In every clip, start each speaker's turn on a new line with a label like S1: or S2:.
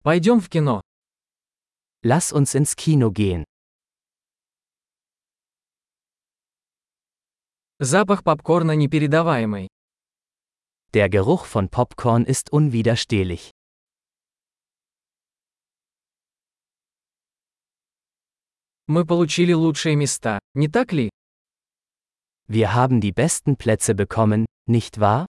S1: Пойдем в кино.
S2: Lass uns ins Kino gehen.
S1: Запах попкорна непередаваемый.
S2: Der Geruch von Popcorn ist unwiderstehlich.
S1: Мы получили лучшие места, не так ли?
S2: Wir haben die besten Plätze bekommen, nicht wahr?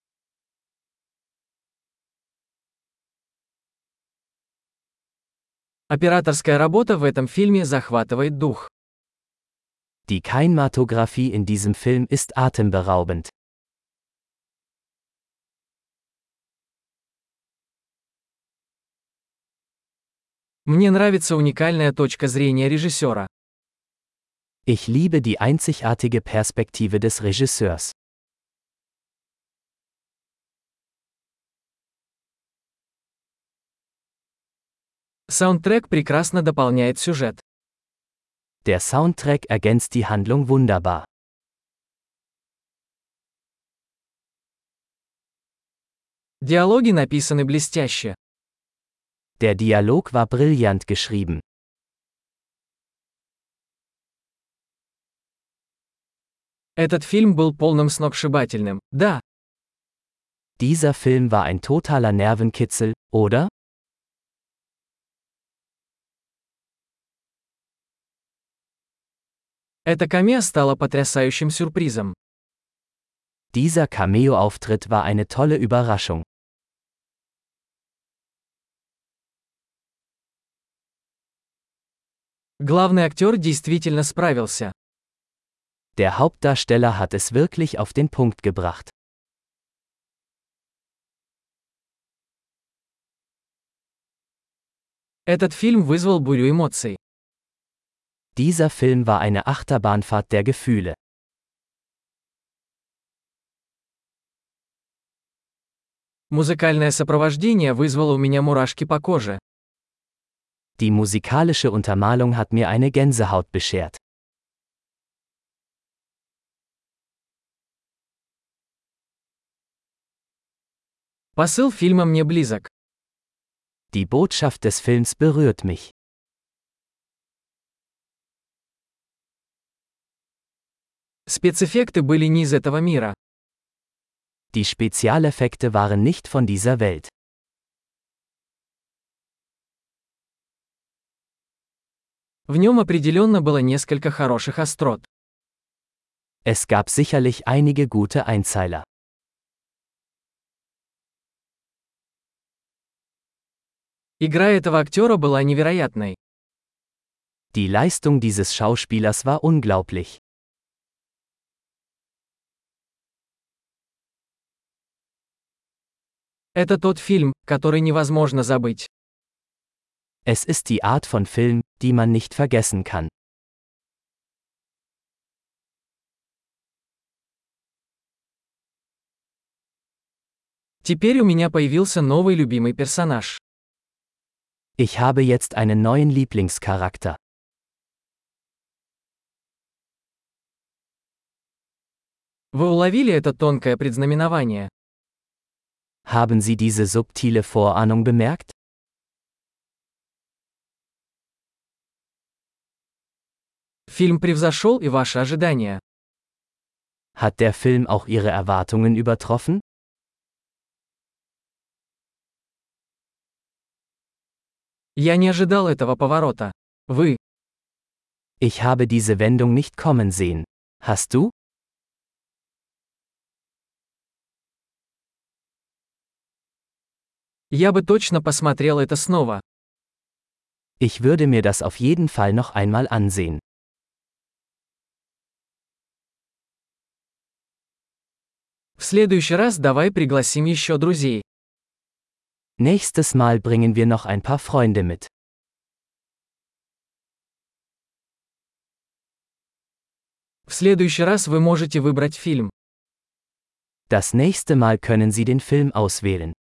S1: Операторская работа в этом фильме захватывает дух.
S2: Die Kinematographie in diesem Film ist atemberaubend.
S1: Мне нравится уникальная точка зрения режиссера.
S2: Ich liebe die einzigartige Perspektive des Regisseurs.
S1: Саундтрек прекрасно дополняет сюжет.
S2: Der Soundtrack ergänzt die Handlung wunderbar.
S1: Диалоги написаны блестяще.
S2: Der Dialog war brillant geschrieben.
S1: Этот фильм был полным сногсшибательным, да.
S2: Dieser Film war ein totaler Nervenkitzel, oder?
S1: Эта камео стала потрясающим сюрпризом.
S2: Dieser Cameo-Auftritt war eine tolle Überraschung.
S1: Главный актер действительно справился.
S2: Der Hauptdarsteller hat es wirklich auf den Punkt gebracht.
S1: Этот фильм вызвал бурю эмоций.
S2: Dieser Film war eine Achterbahnfahrt der Gefühle.
S1: Музыкальное сопровождение вызвало у меня мурашки по коже.
S2: Die musikalische Untermalung hat mir eine Gänsehaut beschert.
S1: Посыл фильма мне близок.
S2: Die Botschaft des Films berührt mich.
S1: Спецэффекты были не из этого мира.
S2: Die Spezialeffekte waren nicht von dieser Welt.
S1: В нем определенно было несколько хороших острот.
S2: Es gab sicherlich einige gute Einzeiler.
S1: Игра этого актера была невероятной.
S2: Die Leistung dieses Schauspielers war unglaublich.
S1: Это тот фильм, который невозможно забыть.
S2: Es ist die Art von Film, die man nicht vergessen kann.
S1: Теперь у меня появился новый любимый персонаж.
S2: Ich habe jetzt einen neuen Lieblingscharakter.
S1: Вы уловили это тонкое предзнаменование?
S2: Haben Sie diese subtile Vorahnung bemerkt?
S1: Фильм превзошел и ваши ожидания.
S2: Hat der Film auch Ihre Erwartungen übertroffen?
S1: Я не ожидал этого поворота. Вы?
S2: Ich habe diese Wendung nicht kommen sehen. Hast du?
S1: Я бы точно посмотрел это снова.
S2: Ich würde mir das auf jeden Fall noch einmal ansehen.
S1: В следующий раз давай пригласим еще друзей.
S2: Nächstes Mal bringen wir noch ein paar Freunde mit.
S1: В следующий раз вы можете выбрать фильм.
S2: Das nächste Mal können Sie den Film auswählen.